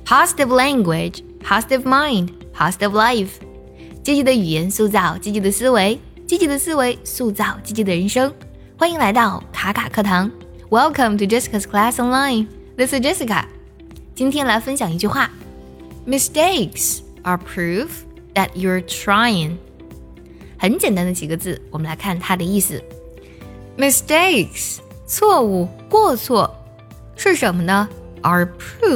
Positive language, positive mind, positive life. 积极的语言塑造积极的思维，积极的思维塑造积极的人生。欢迎来到卡卡课堂。Welcome to Jessica's Class Online. This is Jessica. 今天来分享一句话。Mistakes are proof that you're trying. 很简单的几个字，我们来看它的意思。Mistakes, 错误、过错是什么呢？ Are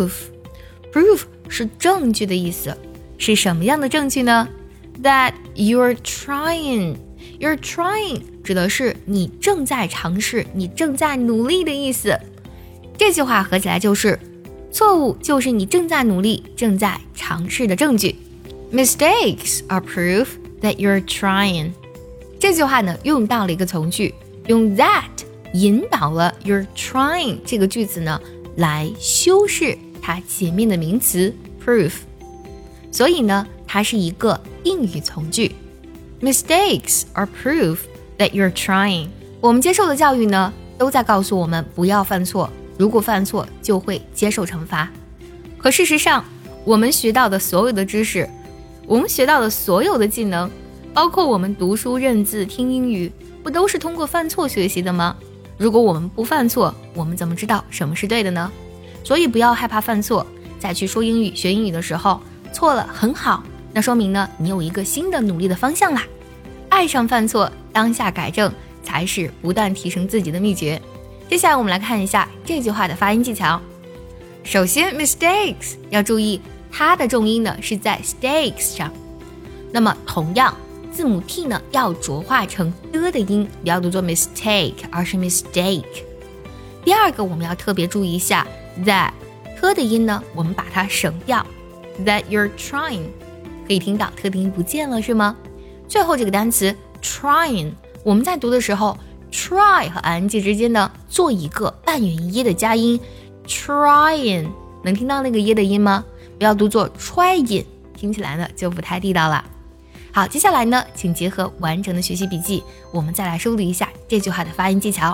proof 是证据的意思。是什么样的证据呢？ That you're trying. You're trying 指的是你正在尝试，你正在努力的意思。这句话合起来就是错误就是你正在努力，正在尝试的证据。Mistakes are proof that you're trying. 这句话呢，用到了一个从句，用 that 引导了 you're trying 这个句子呢，来修饰它前面的名词 proof。所以呢，它是一个定语从句。Mistakes are proof that you're trying. 我们接受的教育呢，都在告诉我们不要犯错，如果犯错就会接受惩罚。可事实上，我们学到的所有的知识，我们学到的所有的技能，包括我们读书、认字、听英语，不都是通过犯错学习的吗？如果我们不犯错，我们怎么知道什么是对的呢？所以不要害怕犯错，在去说英语、学英语的时候，错了很好，那说明呢，你有一个新的努力的方向啦。爱上犯错，当下改正，才是不断提升自己的秘诀。接下来我们来看一下这句话的发音技巧。首先 mistakes 要注意它的重音呢是在 stakes 上，那么同样字母 T 呢要浊化成的音，不要读作 mistake 而是 mistake。 第二个我们要特别注意一下 that 的音呢我们把它省掉， that you're trying 可以听到特定音不见了是吗？最后这个单词 trying 我们在读的时候 try 和 ing 之间呢做一个半元音的加音 trying， 能听到那个耶的音吗？不要读作 trying， 听起来呢就不太地道了。好，接下来呢请结合完整的学习笔记，我们再来梳理一下这句话的发音技巧。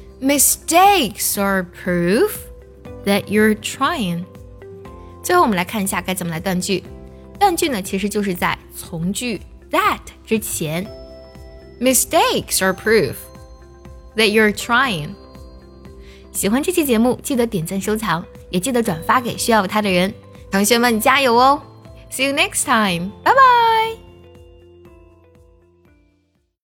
Mistakes are proof that you're trying。 最后我们来看一下该怎么来断句。断句呢其实就是在从句 that 之前 Mistakes are proof that you're trying。 喜欢这期节目记得点赞收藏，也记得转发给需要它的人。同学们加油哦！ See you next time. Bye bye.